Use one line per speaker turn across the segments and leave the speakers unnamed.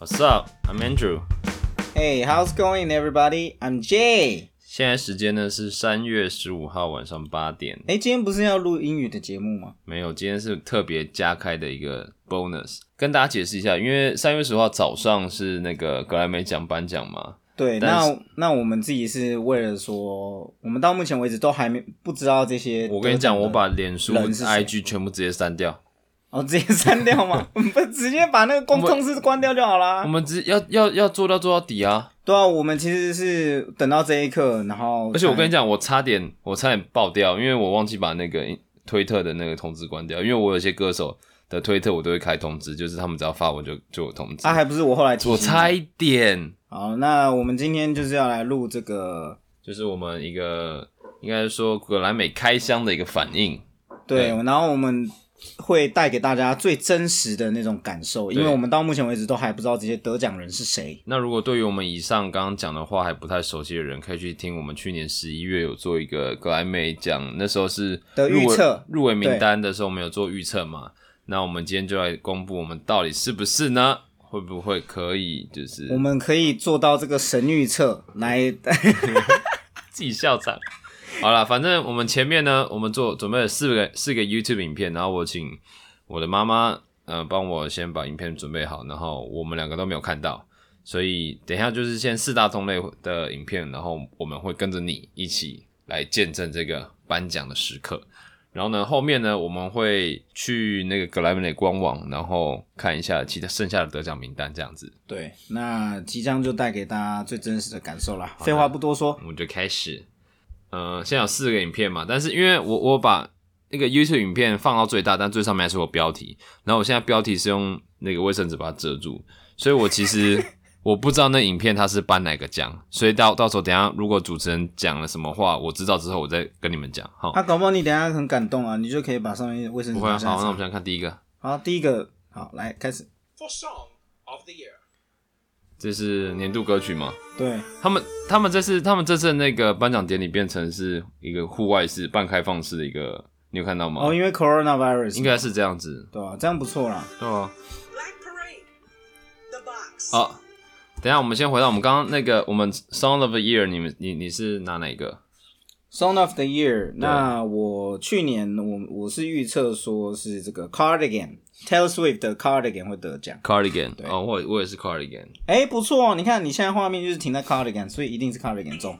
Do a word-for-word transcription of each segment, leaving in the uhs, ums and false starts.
What's up? I'm Andrew.
Hey, how's going, everybody? I'm Jay.
現在時間呢是三月十五號晚上八點。
哎，今天不是要錄英語的節目嗎？
沒有，今天是特別加開的一個 bonus， 跟大家解釋一下，因為三月十五號早上是那個格萊美獎頒獎嘛。
對，那那我們自己是為了說，我們到目前為止都還沒不知道這些。
我跟你講，我把臉書、I G 全部直接刪掉。
哦，直接刪掉嗎？不，直接把那個公通知關掉就好啦。
我們直要要要做到做到底啊！
對啊，我們其實是等到這一刻，然後
而且我跟你講，我差點我差點爆掉，因為我忘記把那個推特的那個通知關掉，因為我有些歌手的推特我都會開通知，就是他們只要發文就就有通知。
啊，還不是我後來提醒你。
我差一點。
好，那我們今天就是要來錄這個，
就是我們一個應該說格萊美開箱的一個反應。
對，對，然後我們會帶給大家最真實的那種感受，因為我們到目前為止都還不知道這些得獎人是誰。那
如果對於我們以上剛剛講的話還不太熟悉的人，可以去聽我們去年十一月有做一個格萊美獎，那時候是
的預測
入圍名單的時候，我們有做預測嘛。那我們今天就來公布我們到底是不是呢？會不會可以就是
我們可以做到這個神預測來
自己笑場。好啦，反正我們前面呢，我們做準備了四個四個 YouTube 影片，然後我請我的媽媽呃幫我先把影片準備好，然後我們兩個都沒有看到，所以等一下就是先四大同類的影片，然後我們會跟着你一起來見證這個頒獎的時刻。然後呢，後面呢我們會去那個格萊美的官網，然後看一下其他剩下的得獎名單這樣子。
對，那即將就帶給大家最真實的感受啦。廢話不多說，
我們就開始。呃，現在有四個影片嘛，但是因為我我把那個 YouTube 影片放到最大，但最上面還是有標題，然後我現在標題是用那個衛生紙把它遮住，所以我其實我不知道那影片它是頒哪個獎，所以到到時候等一下如果主持人講了什麼話，我知道之後我再跟你們講。好，
啊，搞不好你等一下很感動啊，你就可以把上面衛生紙拿下來。
好，那我們先看第一個。
好，第一個，好，來開始。
For Song of the Year。
這是年度歌曲嗎？
對，
他們他們這次他們這次的那個頒獎典禮變成是一個戶外式半開放式的一個，你有看到嗎？
哦，因為 coronavirus
應該是這樣子，
對啊，這樣不錯啦，
對啊。
Black Parade The Box。
好，等一下我們先回到我們剛剛那個我們 Song of the Year， 你們你你是拿哪一個
？Song of the Year， 那我去年我我是預測說是這個 Cardigan。Taylor Swift 的 Cardigan 會得獎
Cardigan 哦，我我也是 Cardigan。
哎，不錯哦，你看你現在畫面就是停在 Cardigan， 所以一定是 Cardigan 中。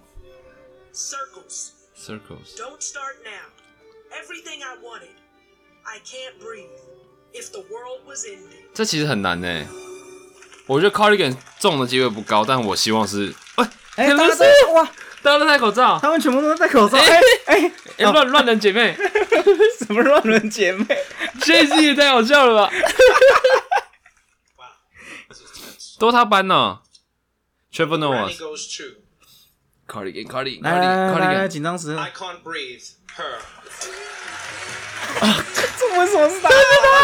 Circles
Circles
Don't start now. Everything I wanted. I can't breathe. If the world was ending.
這其實很難耶，我覺得 Cardigan 中的機會不高，但我希望是。哎
哎，大家都哇，
大家都戴口罩，
他們全部都戴口罩。哎哎
哎，亂亂人姐妹，
什麼亂人姐妹？
這次也太好笑了吧！都他頒呢 ，Trevor Noah。Cardigan Cardigan
Cardigan
Cardigan
緊張時刻。
I can't breathe. Her。
啊，這為什麼是他？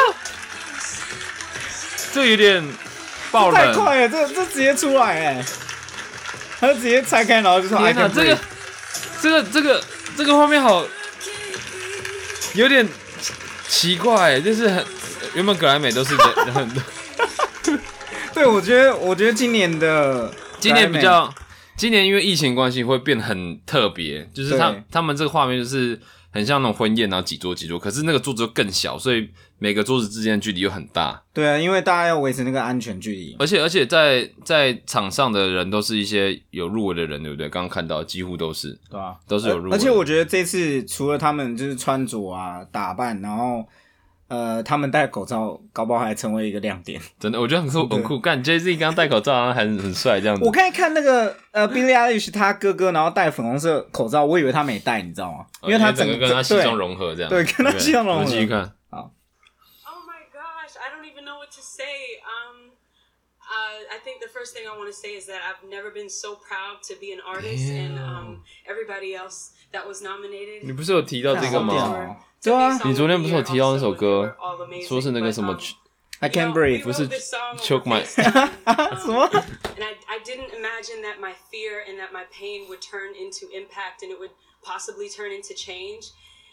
這有點爆冷，
太快了，這這直接出來哎！他就直接拆開，然後就說：“
天哪，這個這個這個這個畫面好有點奇怪，就是很原本格萊美都是人很多。
對，我覺得我覺得今年的
今年比較，今年因為疫情關係會變得很特別，就是他他們這個畫面就是很像那種婚宴，然後幾桌幾桌，可是那個桌子又更小，所以每個桌子之間的距離又很大。對
啊，因為大家要維持那個安全距離，
而且而且在在場上的人都是一些有入圍的人，對不對？剛剛看到幾乎都是，
對啊，
都是有入圍。
而且我覺得這次除了他們就是穿着啊、打扮，然後呃，他們戴口罩，搞不好還成為一個亮點。
真的，我覺得很酷，很酷。幹 Jay Z 剛戴口罩，然後還很帥這樣子。
我剛才看那個呃 Billie Eilish 他哥哥，然後戴粉紅色口罩，我以為他沒戴，你知道嗎？因為他整個
跟他西裝融合這樣。
對，跟他西裝融合。
我們繼續看。
好。
Oh my gosh, I don't even know what to say. Um, uh, I think the first thing I want to say is that I've never been so proud to be an artist, and um, everybody else that was nominated.
你不是有提到這個嗎？
对啊，
你昨天不是有提到那首歌，說是那個什麼
I Can't Breathe，
不是 Choke My
什麼
And I, I didn't imagine that my fear and that my pain would turn into impact and it would possibly turn into change.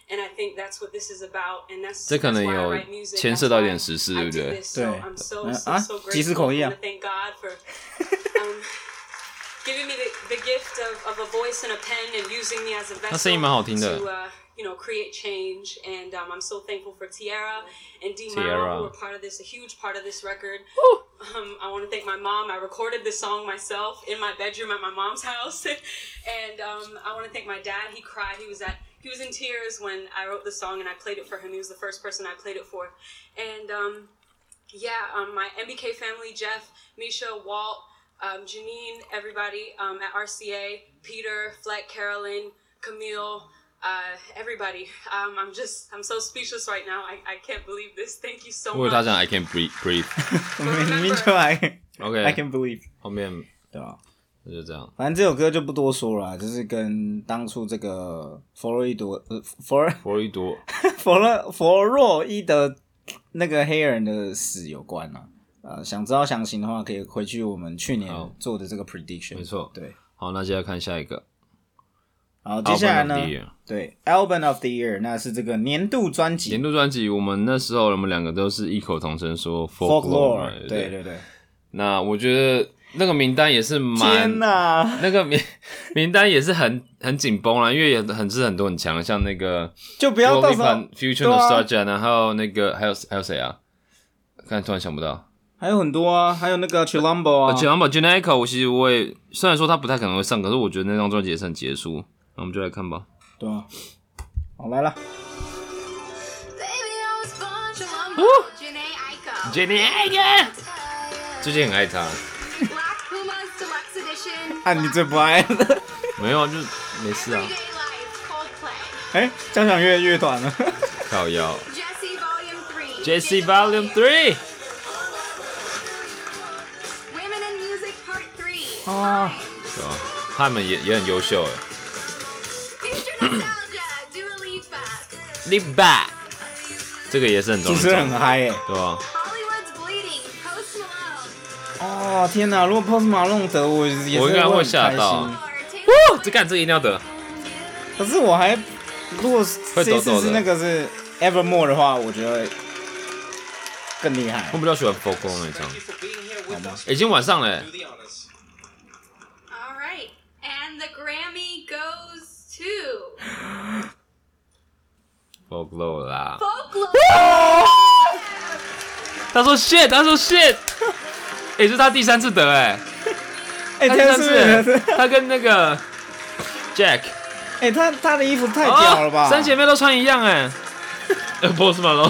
And I think that's what this is about, and that's,
這可能
that's why I
有
write music.
牽涉到一點時事，對不對？
So I'm so,
對
so,
啊
so
即時口譯啊
grateful. I want to thank God for um, giving me the, the gift of, of a voice and a pen and using me as a vessel
他声音蠻好聽的
to, uh, you know, create change. And um, I'm so thankful for Tiara and D.
Tiara.
Mara, who were part of this, a huge part of this record. Um, I want to thank my mom. I recorded this song myself in my bedroom at my mom's house. And um, I want to thank my dad. He cried. He was at he was in tears when I wrote the song and I played it for him. He was the first person I played it for. And um, yeah, um, my M B K family, Jeff, Misha, Walt, um, Janine, everybody um, at R C A, Peter, Fleck, Carolyn, Camille, uh, everybody. Um, I'm just, I'm so speechless right now. I, I can't believe this. Thank you so
如果
much.
他講 I can breathe breathe，
我明明就 I
OK
I can believe，
後面
对吧？
就這樣。
反正這首歌就不多說了啦，就是跟當初這個弗洛伊德呃弗洛
弗洛伊多
弗洛弗洛伊德那個黑人的死有關啦。呃，想知道詳情的話，可以回去我們去年做的這個 prediction。
沒錯，
對。
好，那接下來看下一個。
好，接下來呢
Album of the year
對 Album of the Year， 那是這個年度專輯。
年度專輯，我們那時候我們兩個都是異口同聲說
Folklore，
Folklore，
對對對。
那我覺得那個名單也是蠻，
天哪，
那個名名單也是很很緊繃啦，因為也很是很多很強，像那個
就不要到時候
Future Nostalgia，然後那個還有還有誰啊？剛才突然想不到。
還有很多啊，還有那個 Chilombo 啊
，Chilombo Janaiko， 我其實我也雖然說他不太可能會上，可是我覺得那張專輯也是很傑出。那我們就來看吧。
對啊，好來了。
Janaiko， 最近很愛他。
啊，你最不愛的？
沒有啊，就沒事啊。
哎，交響樂樂團了。
靠腰。Jessie Volume Three。
啊，
是吧？他們也也很優秀哎。Live Back， 這個也是很重要，
主持人很嗨哎，
對吧？
哦天哪！如果 Post Malone 得，我也是
我應該會嚇到。哦，這幹這個一定要得。
可是我還，如果這次是那個是 Evermore 的話，我覺得更厲害。
我比較喜歡 Folklore 那張。好嗎？已經晚上了。
All right, and the Grammy goes to
Folklore 啦。
Folklore。
他說 shit， 他說 shit。哎、欸，這是他第三次得哎，
哎、欸，
他第三次，他跟那個 Jack，
哎、欸，他他的衣服太屌了吧？
哦、三姐妹都穿一樣哎，呃，Post Malone，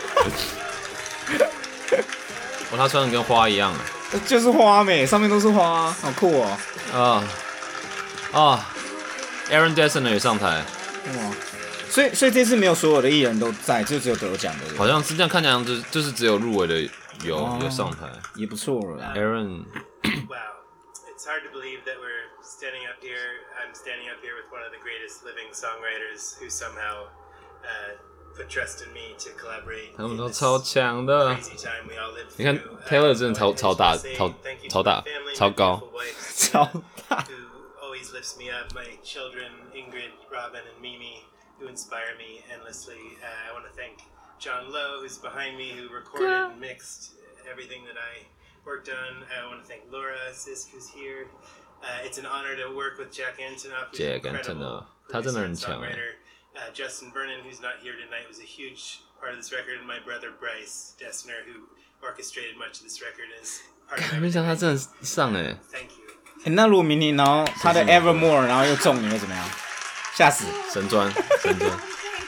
哦，他穿的跟花一樣，
就是花美，上面都是花，好酷哦。
啊啊、哦哦、，Aaron Dessner 也上台，
哇，所以所以這次沒有所有的藝人都在，就只有得獎的人，
好像是這樣，看起來就就是只有入圍的。有有上台，
也不錯了。
Aaron，
Wow, it's hard to believe that we're standing up here. I'm standing up here with one of the greatest living songwriters who somehow uh, put trust in me to collaborate.
他們都超強的。你看 Taylor 真的超超大，超超大，超高，
超大。
Who always lifts me up. My children, Ingrid, Robin, and Mimi, who inspire me endlessly. Uh, I want to thank John Lowe, who's behind me, who recorded and mixed everything that I worked on. I want to thank Laura Sisk, who's here. Uh, it's an honor to work with Jack Antonoff, who's
Jack
an incredible producer and songwriter. Uh, Justin Vernon, who's not here tonight, was a huge part of this record, and my brother Bryce Dessner, who orchestrated much of this record, is part of it.
没想到他真的上哎
Thank you.
欸，那如果明年然後他的 Evermore 然後又中，你會怎麼樣？嚇死！
神專，神專。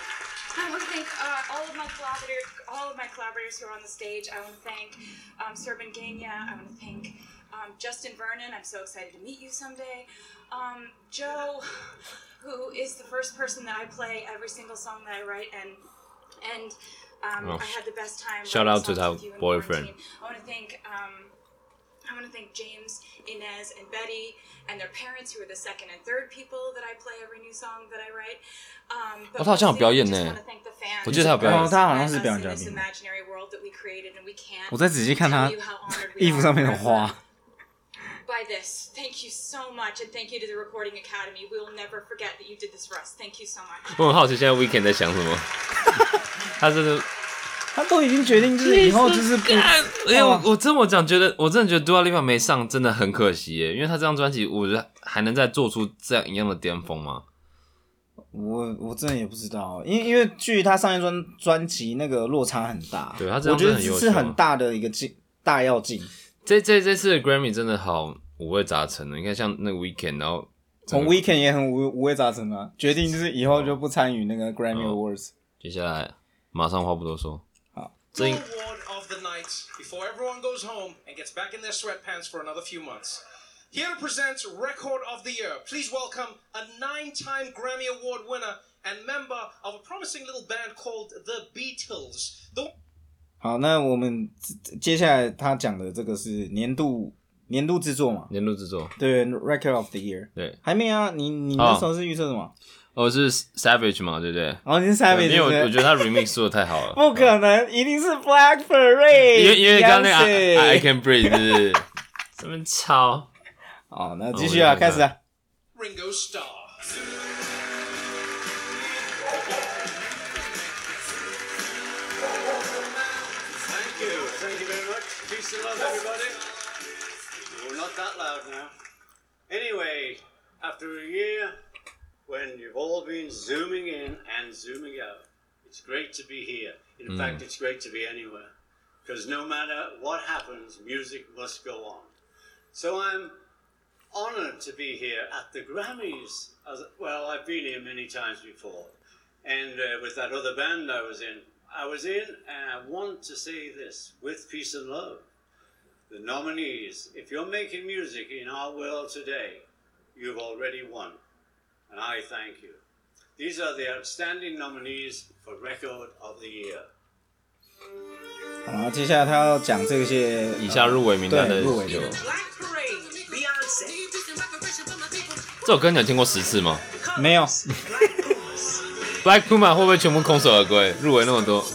Who are on the stage. I want to thank um, Serban Gania. I want to thank um, Justin Vernon. I'm so excited to meet you someday. Um, Joe, who is the first person that I play every single song that I write, and and um, oh. I had the best time.
Shout out to that boyfriend.
I want to thank um, I want to thank James, Inez, and Betty, and their parents, who are the second and third people that I play every new song that I write. Um,
哦，他好像有表演呢。我记得他有表演。
哦，他好像是表演嘉賓。我再仔細看他衣服上面的花。
buy this. Thank you so much, and thank you to the Recording Academy. We will never forget that you did this for us. Thank you so much.
我很好奇现在 Weeknd 在想什麼，他真的，
他都已經決定就是以後就是不，
因為我我真我講覺得我真的覺得 Dua Lipa 沒上真的很可惜耶，因為他這張專輯我覺得還能再做出這樣一樣的巔峰嗎？
我我真的也不知道，因為因為距他上一專專輯那個落差很大，
對他這張
我覺得
很優秀
是很大的一個進大躍進。
這這這次的 Grammy 真的好五味雜陳的，你看像那個 Weeknd， 然後
從 Weeknd 也很五五味雜陳啊，決定就是以後就不參與那個 Grammy Awards。
接下來馬上話不多說，
好，
這 Award of the night before everyone goes home and gets back in their sweatpants for another few months. Here to present Record of the Year, please welcome a nine-time Grammy Award winner and member of a promising little band called The Beatles. The
好，那我們接下來他講的這個是年度年度制作嘛？
年度制作，
對 ，Record of the Year。
對，
還沒啊？你你那時候是預測什麼？
哦，是 Savage 嘛，對不對？
哦，你是 Savage，
因為我我覺得他 remix 做的太好了。
不可能，一定是 Black Parade。
因為因為剛剛那個 I, I Can Breathe 是不是這邊抄。
好，那繼續啊，開始啊。
Ringo Starr.
Thank you very much. Peace and love, everybody. Well, not that loud now. Anyway, after a year when you've all been zooming in and zooming out, it's great to be here. In mm. fact, it's great to be anywhere. Because no matter what happens, music must go on. So I'm honored to be here at the Grammys. As, well, I've been here many times before. And uh, with that other band I was in, I was in, and I want to say this, with peace and love. The nominees, if you're making music in our world today, you've already won. And I thank you. These are the outstanding nominees for Record of the Year.
好，接下来他要講這些
以下入圍名單的
入圍的。
這首歌你有聽過十次嗎？
沒有。
Black Puma 會不會全部空手而歸？入圍那麼多。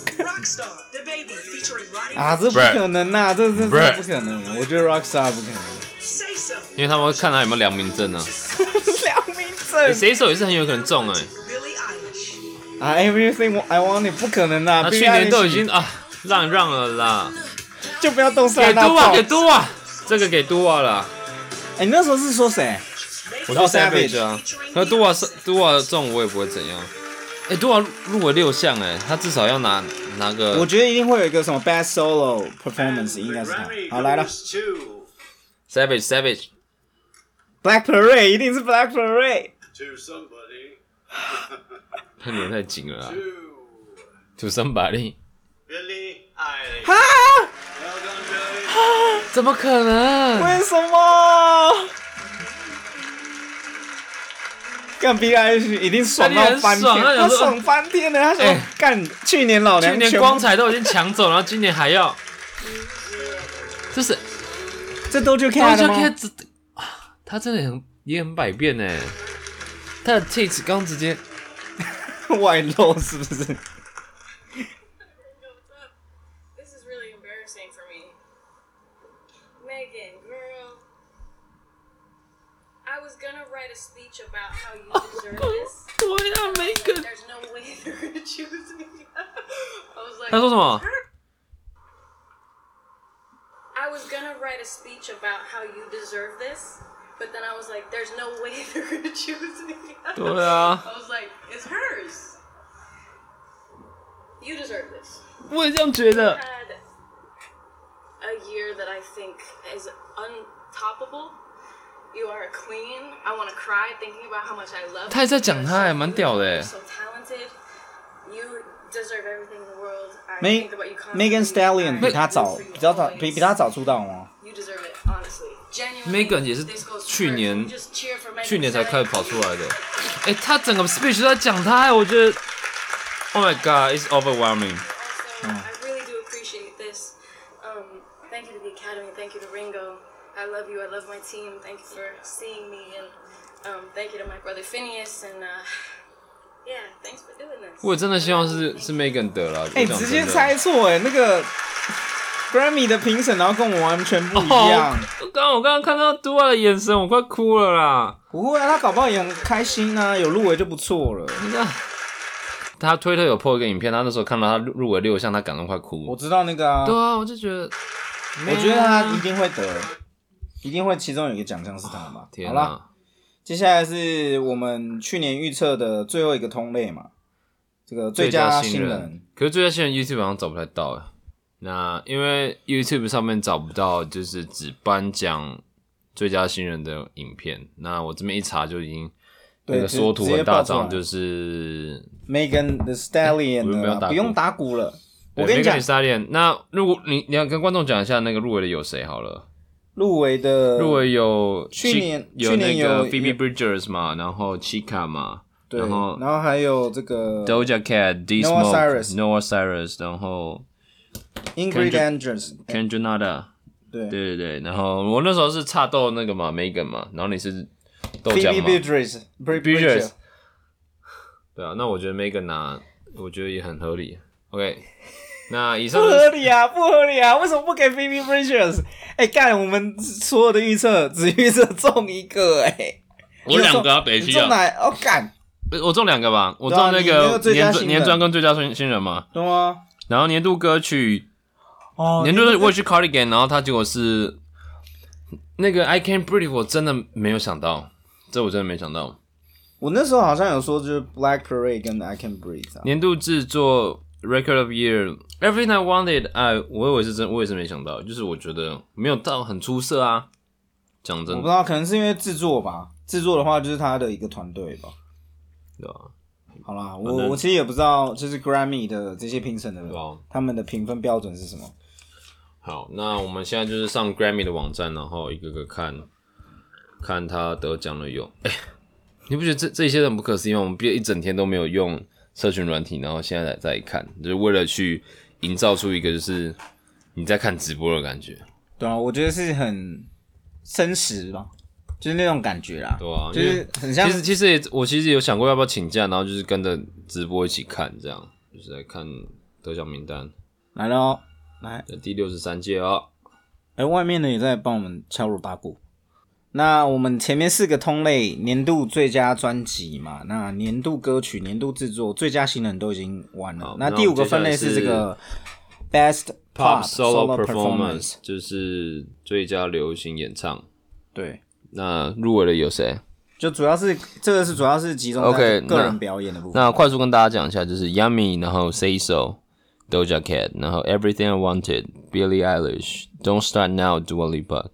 啊，這不可能啊！這這這不可能！我覺得 Rockstar 不可能，
因為他們會看他有沒有良民證啊。
良民證，
誰手也是很有可能中哎、
欸。啊 ，Everything I Want， 不可能啊！
他去年都已經啊讓讓了啦，
就不要動手。
給都啊，給都啊，這個給都啊了。
哎、欸，你那時候是說誰？
我說 Savage 啊，那都啊是都啊中我也不會怎樣。哎、欸，都啊入圍六項哎，他至少要拿拿個。
我覺得一定會有一個什麼 Best Solo Performance， 應該是他。好，來了
，Savage Savage
Black Parade 一定是 Black Parade。
To somebody
他臉太緊了啊。To somebody。Billie
Eilish。
哈？
Well done, Billie。
怎麼可能？
為什麼？幹 Billie Eilish 一定爽到翻天，他爽翻天了。他說：“幹、欸，去年老娘
去年光彩都已經搶走，然後今年還要，這是
這都就看了嗎？
他真的很也很百變哎，他的 taste 剛直接
外露是不是
？This is really embarrassing for me, Megan, girl. I was gonna write a speech about how you deserve this.
对呀 ，Megan.
There's no way they're gonna choose me. I was like,
他說什麼
I was gonna write a speech about how you deserve this, but then I was like, there's no way they're gonna choose me.
對啊
I was like, it's hers. You deserve this.
我也這樣覺得。
Had a year that I think is untoppable. You are a queen. I want to cry thinking about how much I love you.
他也在講他，還蠻屌的哎。
So talented. You deserve everything in the world. I
Meg,
think about you
Megan Stallion 比他早，比較早，比比他早出道嗎
？You deserve it, honestly.
Megan 也是去年，去年才開始跑出來的。哎、欸，他整個 speech 都在講他，我覺得 ，Oh my God, it's overwhelming.
Also, I really do appreciate this. Um, thank you to the Academy. Thank you to Ringo. I love you. I love my team. Thank you for seeing me, and um, thank you to my brother Phineas, and uh, yeah, thanks for doing this.
我真的希望是是 Megan 得了。
哎、欸，直接猜錯哎，那個 Grammy 的評審，然後跟我完全不一樣。
剛剛、oh, 我剛剛看到 Dua 的眼神，我快哭了啦！
不會啊，他搞不好也很開心啊，有入圍就不錯了。
他推特有 po 一個影片，他那時候看到他入圍六項，他感動快哭。
我知道那個啊。對
啊，我就覺得，
我覺得他一定會得，一定會其中有一個獎項是他嘛。
天啊、
好啦，接下來是我們去年預測的最後一個通類嘛，這個最佳新人。
最佳新人可是最佳新人 YouTube 好像找不太到哎。那因為 YouTube 上面找不到，就是只頒獎最佳新人的影片。那我這邊一查就已經那個縮圖很大張，就是
Megan Thee Stallion 的、欸、不用打鼓了。我跟你講
Megan Thee Stallion。那如果你你要跟觀眾講一下那個入圍的有誰好了？
入圍的
入圍有
去年
有那個 Phoebe Bridgers 嘛，然後 Chica 嘛，
對，
然後
然後還有這個
Doja Cat、D Smoke、Noah Cyrus， 然後。
Ingrid Andress、Kendra，
對对对对，然後我那時候是插鬥那個嘛 Megan 嘛，然後你是鬥獎嘛
Phoebe Bridgers，
對啊，那我覺得 Megan 拿，我覺得也很合理。OK， 那以上
不合理啊，不合理啊，為什麼不給 Phoebe Bridgers？ 哎、欸，幹，我們所有的預測只預測中一個、欸，哎，
我兩個啊，北區啊，
中哪？哦，幹，
我中兩個吧，我中那個年年專跟最佳新新人嘛，
對嗎？
然後年度歌曲，哦，年度我去 Cardigan， 然後他結果是那個 I Can't Breathe， 我真的沒有想到，這我真的沒想到。
我那時候好像有說就是 Black Parade 跟 I Can't Breathe、啊。
年度制作 Record of Year Everything I Wanted， 哎，我以為是真，我也是沒想到，就是我覺得沒有到很出色啊。講真的，
我不知道，可能是因為制作吧，制作的話就是他的一個團隊吧，
對吧？
好啦，我我其實也不知道，就是 Grammy 的這些評審的，他們的評分標準是什麼？
好，那我們現在就是上 Grammy 的網站，然後一個個看，看他得獎了有。哎、欸，你不覺得這這些很不可思議嗎？我們畢業一整天都沒有用社群軟體，然後現在再再看，就是為了去營造出一個就是你在看直播的感覺。
對啊，我覺得是很真實吧。就是那種感覺啦，
對啊，
就是很像。
其實其實也我其實有想過要不要請假，然後就是跟着直播一起看，這樣就是來看得獎名單。
來了哦，來
第六十三屆哦。
哎、欸，外面的也在幫我們敲鑼打鼓。那我們前面四個通類，年度最佳專輯嘛，那年度歌曲、年度制作、最佳新人都已經完了。那第五個分類是這個 Best Pop, Pop Solo Performance，
就是最佳流行演唱。
對。
那入圍的有誰？
就主要是這個是主要是集中在個人表演的部分。
Okay, 那, 那快速跟大家講一下，就是 Yummy， 然後 Say So、Doja Cat， 然後 Everything I Wanted、Billie Eilish、Don't Start Now、Dua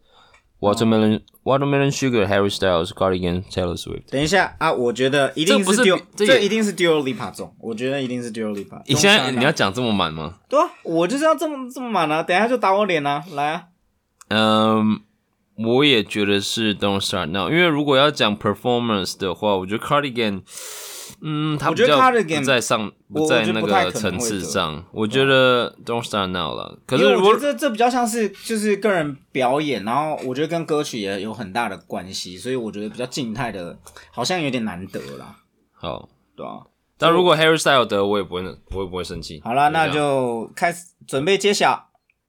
Lipa、Watermelon、Watermelon Sugar、Harry Styles、Cardigan、Taylor Swift。
等一下啊，我覺得一定是 Dua， 這, 這一定是 Dua Lipa 中，我覺得一定是 Dua Lipa。
你現在你要講這麼滿嗎？
對啊，我就是要這麼這麼滿啊！等一下就打我臉啊，來啊！
嗯。我也覺得是 Don't Start Now， 因為如果要講 performance 的話，我覺得 Cardigan， 嗯，他比較不在上，不在那個層次上。我覺得 Don't Start Now 了。可是
我覺得這這比較像是就是個人表演，然後我覺得跟歌曲也有很大的關係，所以我覺得比較靜態的，好像有點難得啦。
好，
對啊。
但如果 Harry Styles 得，我也不會，我也不會生氣。
好啦，那就開始準備揭曉。啊、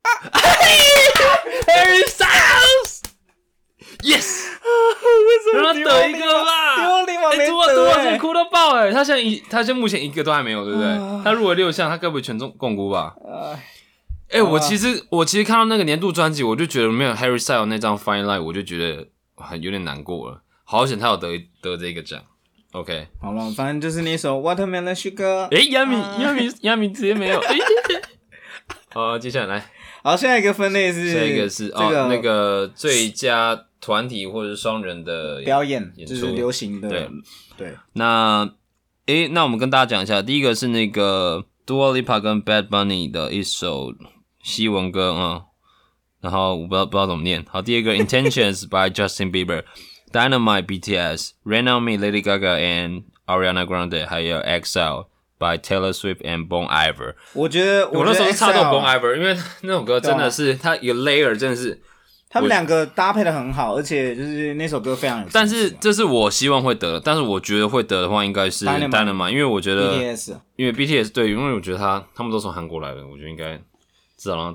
Harry Styles。Yes， 讓他得一個吧。
丟立馬沒得、欸，
杜杜瓦真哭到爆哎！他現在一，他現在目前一個都還沒有，對不對？呃、他入圍六項，他該不會全中摃龜吧？哎、呃欸，我其實我其實看到那個年度專輯，我就覺得沒有 Harry Styles 那張 Fine Line， 我就覺得很有點難過了。好險他有得得這個獎。OK，
好了，反正就是那首 Watermelon Sugar。
哎、欸，亞米亞米亞米直接沒有。好，接下來來，
好，下一個分類是
下一個是、這個、哦那個最佳團體或者是雙人的演
表演，就是流行的。
對
對。
那誒，那我們跟大家講一下，第一個是那個 Dua Lipa 跟 Bad Bunny 的一首西文歌啊、嗯，然後我不知道不知道怎麼念。好，第二個 Intentions by Justin Bieber、Dynamite B T S、Rain on Me Lady Gaga and Ariana Grande， 還有 Exile by Taylor Swift and Bon Iver。
我覺得
我那時候是插到 Bon Iver， 因為那首歌真的是它有 layer， 真的是。
他們兩個搭配的很好，而且就是那首歌非常有。
但是這是我希望會得的，但是我覺得會得的話應該是 Dynamite， 因為我覺得
B T S，
因為 B T S 對，因為我覺得他他們都從韓國來的，我覺得應該至少讓他得一下。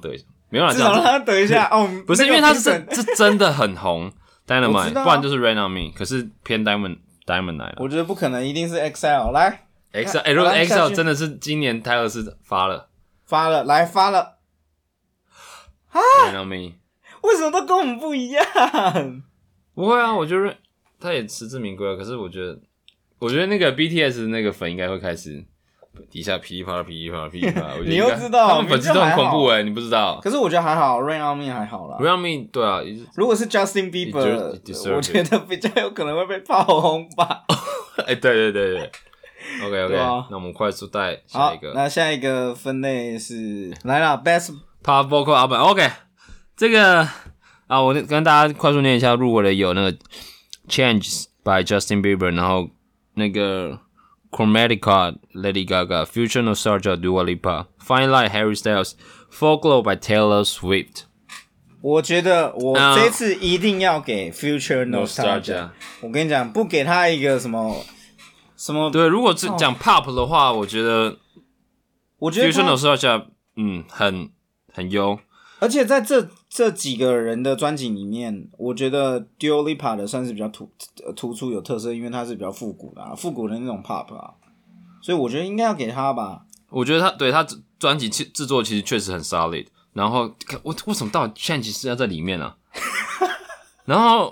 沒有啦，
至少讓他等一下哦。
不是因為他是是真的很紅 ，Dynamite，、啊、不然就是 Rain on Me， 可是偏 Diamond Diamond 來了。
我覺得不可能，一定是 X L 來
X L， 哎、欸，如果 X L 真的是今年泰勒斯發了，
發了，來發了啊
！Rain on Me，
為什麼都跟我們不一樣？
不會啊，我覺得他也實至名歸啊。可是我覺得，我覺得那個 B T S 那個粉應該會開始。底下噼里啪啦噼里啪啦噼里啪啦，
你又知道
他們粉絲都很恐怖哎、欸，你不知道？
可是我覺得還好 ，Rain on Me 還好啦。
Rain on Me 對啊，
如果是 Justin Bieber， 我覺得比較有可能會被炮轟吧。
哎、欸，對對對對 ，OK OK，、啊、那我們快速帶下一個。
那下一個分類是來了 Best
Pop Vocal Album，OK，、okay, 這個啊，我跟大家快速念一下入圍的有那個 Changes by Justin Bieber， 然後那個。Chromatica, Lady Gaga, Future Nostalgia, Dua Lipa, Fine Line, Harry Styles, Folklore by Taylor Swift.
我覺得我這次一定要給 Future Nostalgia。Uh, 我跟你講，不給他一個什麼什麼？
對，如果是講 Pop 的話，我覺得，
我覺得
Future Nostalgia 嗯很很優。
而且在這這幾個人的專輯裡面，我覺得 Dua Lipa 的算是比較突突出有特色，因為他是比較復古的、啊，復古的那種 pop 啊，所以我覺得應該要給他吧。
我覺得他對他專輯製作其實確實很 solid， 然後我為什麼到底 Change 是要在裡面啊？然後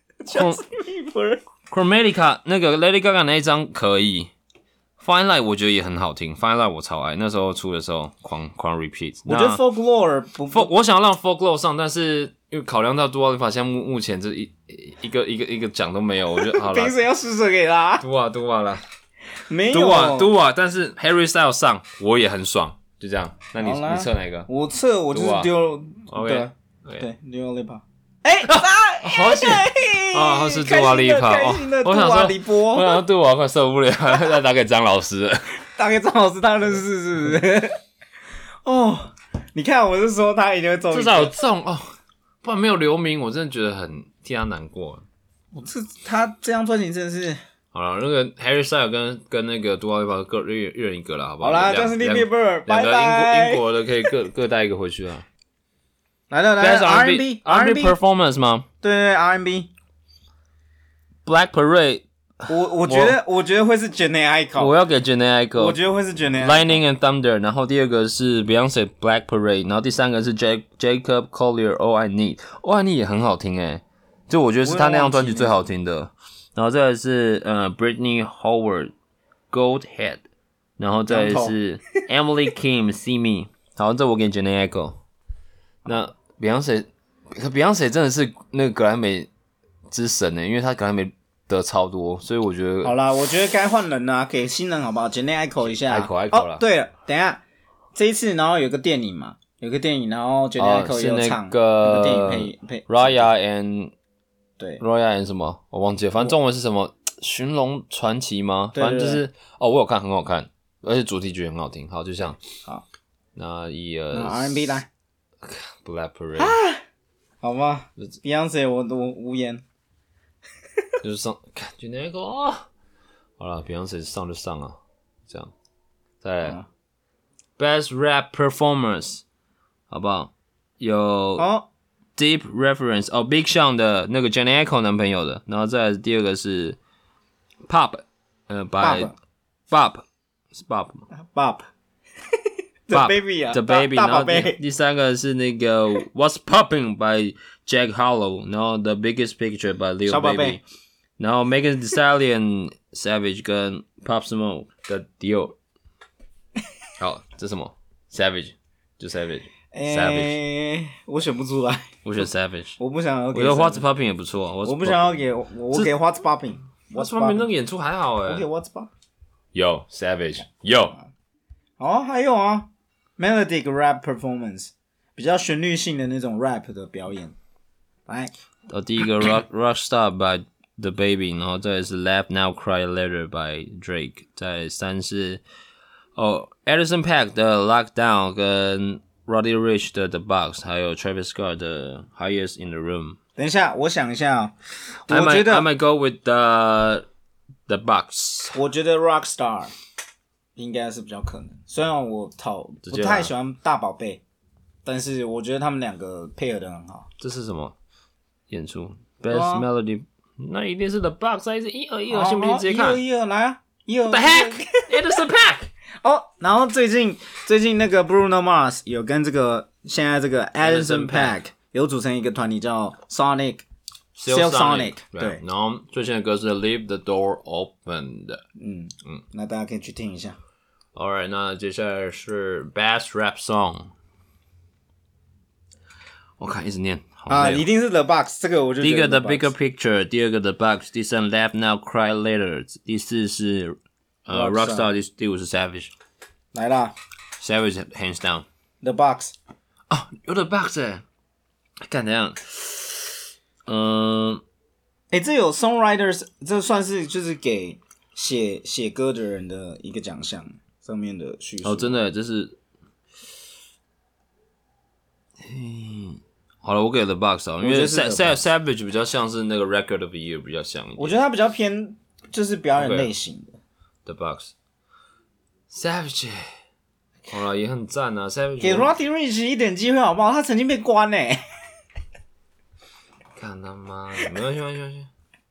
Chromatica 那個 Lady Gaga 那一張可以。Fine Line 我覺得也很好聽 ，Fine Line 我超愛，那時候出的時候狂狂 repeat。
我覺得 Folklore 不，
不我想要讓 Folklore 上，但是因為考量到 Dua Lipa 現在目目前這一一個一個一個獎都沒有，我覺得好了。
憑誰要施捨給他
？Dua Dua 啦，
沒有
Dua Dua， 但是 Harry Styles 上我也很爽，就這樣。那你你測哪個？
我測我就是丟
Dua，
對 okay. 對 Dua Lipa。哎、欸，
好險啊！他是杜瓦利帕哦，我想說，我想說杜瓦快受不了，再打給張老師了，
打給張老師，他認識是不是？哦，你看，我是說他一定會中，
至少有中哦，不然沒有留名，我真的覺得很替他難過。
我這他這張專輯真的是
好了，那個 Harry Styles 跟跟那個杜瓦利帕各一人一個了，好不好？
好啦，就是 Bieber，
兩個英國英國的可以各各帶一個回去啊。
來了來了 ，R and B，R and B
performance 嗎？
對對對 ，R and B。Black
Parade，
我我覺得我，我覺得會是 Jhené Aiko，
我要給 Jhené Aiko，
我覺得會是 Jhené
Lightning and Thunder， 然後第二個是 Beyonce Black Parade， 然後第三個是 J Jacob Collier All I Need，All I Need 也很好聽誒，就我覺得是他那張專輯最好聽的。然後再來是呃 Britney Howard Gold Head， 然後再來是 Emily Kim See Me， 好，這我給 Jhené Aiko。那 Beyonce， Beyonce 真的是那個格萊美之神呢，因為他格萊美得超多，所以我覺得
好啦，我覺得該換人啦，給新人好不好？簡單 echo 一下
，echo echo 啦。
哦，對了，等一下這一次，然後有個電影嘛，有個電影，然後簡單 echo 也有唱，
哦、是那個
電影配配
Raya and
對
Raya and 什麼我忘記了，反正中文是什麼《尋龍傳奇》嗎？反正就是哦，我有看，很好看，而且主題曲很好聽。好，就像
好，
那一呃
R and B 來
Black Parade，、
啊、好吧 ，Beyonce 我我無言。
就是上感覺那個哦，好了 ，Beyonce 上就上啊，這樣，再來、嗯、Best Rap Performance， 好不好？有
哦
Deep Reference 哦 ，Big Sean 的那個 Jhené Aiko 男朋友的，然後再來第二個是 Pop， 呃 ，by Bob 是 Bob 嗎
？Bob，The Baby 啊
，The Baby，
然
後 第, 第三個是那個 What's Poppin' by Jack Harlow， 然後 The Biggest Picture by Lil Baby。然後 Megan Thee Stallion Savage 跟 Pop Smoke 的 Dior， 好，這是什麼 Savage 就 Savage，
欸、
Savage，
我選不出來，
我選 Savage，
我不想要給，
我覺得 What's Poppin' 也不錯，
我不想要給我，我給 What's Poppin'，
What's Poppin' 那個演出還好誒，
我給 What's Poppin'，
有 Savage 有，
哦還有啊 Melodic Rap Performance 比較旋律性的那種 rap 的表演，來，
哦第一個 Rock Rockstar by The Baby， 然後再來是 Laugh Now Cry Later by Drake， 再來三是哦 Anderson .Paak 的 Lockdown 跟 Roddy Ricch 的 The Box， 還有 Travis Scott 的 Highest in the Room。等
一下，我想一下，我
I might,
覺得
I might go with the The Box。
我覺得 Rockstar 應該是比較可能，雖然我討不太喜歡大寶貝， 但是我覺得他們兩個配合的很好。
這是什麼演出 ？Best、啊、Melody， 那一定是 The Box， 還是一二一二？信不信直接看？
一二一二來啊！一二
The heck？Anderson .Paak
哦，然後最近最近那個 Bruno Mars 有跟這個現在這個 Anderson .Paak 有組成一個團體叫 Sonic Silk Sonic， 對。
然後最新的歌是 Leave the Door Open 的，
嗯嗯，那大家可以去聽一下。
Alright， 那接下來是 Best Rap Song。我看一直念
啊，一定是 The Box， 這個我就覺得。第一個
The Bigger Picture， 第二個 The Box， 第三 Laugh Now Cry Later， 第四是呃 Rockstar， 第第五是 Savage。
來啦
，Savage hands down。
The Box。
哦，有 The Box 哎，幹怎樣？嗯，
哎，這有 Songwriters， 這算是就是給寫寫歌的人的一個獎項上面的敘述。
哦，真的，這是。嗯，好了，我給 The Box 啊，因為 Savage 比較像是那個 Record of the Year 比較像一點。
我覺得他比較偏就是表演類型的。
Okay. The Box Savage 好了也很讚啊 Savage
給 Roddy Ricch 一點機會好不好？他曾經被關誒、欸、
看他媽的沒關係沒關係沒關係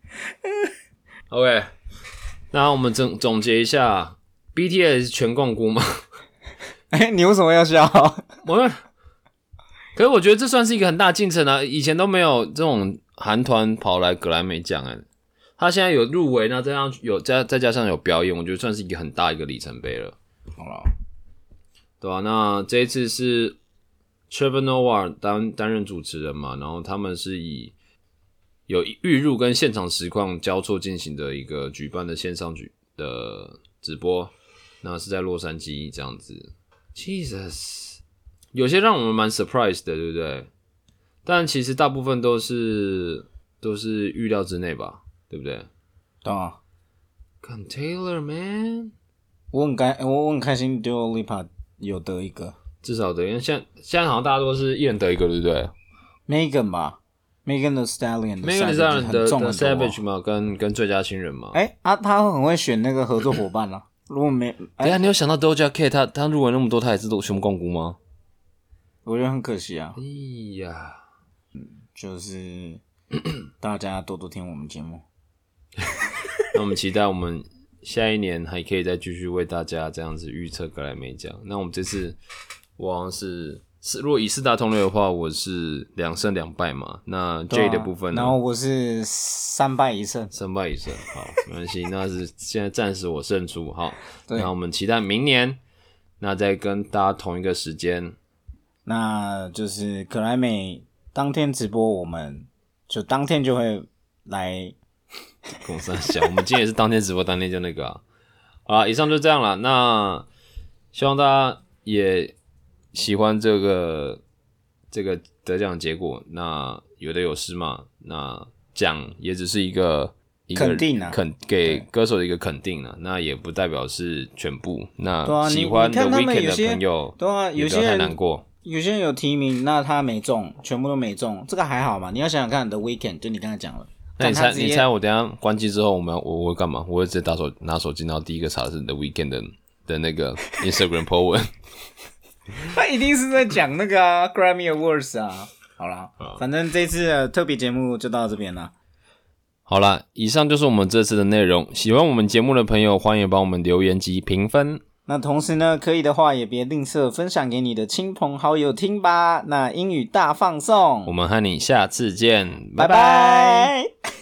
OK 那我們總總結一下 B T S 全摃龜嗎？
哎，你為什麼要笑？
我可是我覺得這算是一個很大進程啊！以前都沒有這種韓團跑來格萊美獎哎，他現在有入圍，那這樣有再再加上有表演，我覺得算是一個很大一個里程碑了。
好了，
對吧、啊？那這一次是 Trevor Noah 擔擔任主持人嘛，然後他們是以有預錄跟現場實況交錯進行的一個舉辦的線上舉的直播，那是在洛杉磯這樣子。Jesus。有些讓我們蠻 surprise 的，對不對？但其實大部分都是都是預料之內吧，對不對？
對啊。
看 Taylor man，
我很開，我我很開心 Dua Lipa 有得一個，
至少得，因為現在現在好像大家都是一人得一個，對不對
？Megan 吧 ，Megan Thee Stallion，Megan
Thee Stallion 的 Savage 嘛，跟跟最佳新人嘛。
哎、欸、啊，他很會選那個合作夥伴啊。如果沒，
等一下你有想到 Doja Cat 他他入圍那麼多，他也是都全部摃龜嗎？
我覺得很可惜啊！
哎呀，
嗯，就是大家多多聽我們節目。
那我們期待我們下一年還可以再繼續為大家這樣子預測格萊美獎。那我們這次我好像是是如果以四大通略的話，我是兩勝兩敗嘛。那 J 的部分呢？
啊、然後我是三敗一勝，
三敗一勝。好，沒關係，那是現在暫時我勝出。好，
對，
那我們期待明年，那再跟大家同一個時間。
那就是格萊美當天直播，我們就當天就會來。
公三小，我們今天也是當天直播，當天就那個啊。好啦，以上就這樣了。那希望大家也喜歡這個這個得獎結果。那有得有失嘛。那獎也只是一個一個
肯定啊，
肯給歌手的一個肯定啊。那也不代表是全部。那喜歡的 Weeknd 的朋友，
對啊，有些人
也不要太難過。
有些人有提名，那他沒中，全部都沒中，這個還好嘛？你要想想看，The Weeknd 就你剛才講了，
那你猜，你猜我等一下關機之後，我們要我我會幹嘛？我會直接打手拿手機，然後第一個查的是 The Weeknd 的的那個 Instagram po 文。
他一定是在講那個啊 Grammy Awards 啊。好啦，反正這次的特別節目就到這邊了。
好啦，以上就是我們這次的內容。喜歡我們節目的朋友，歡迎幫我們留言及評分。
那同時呢，可以的話也別吝嗇分享給你的親朋好友聽吧。那英語大放送，
我們和你下次見，
拜拜。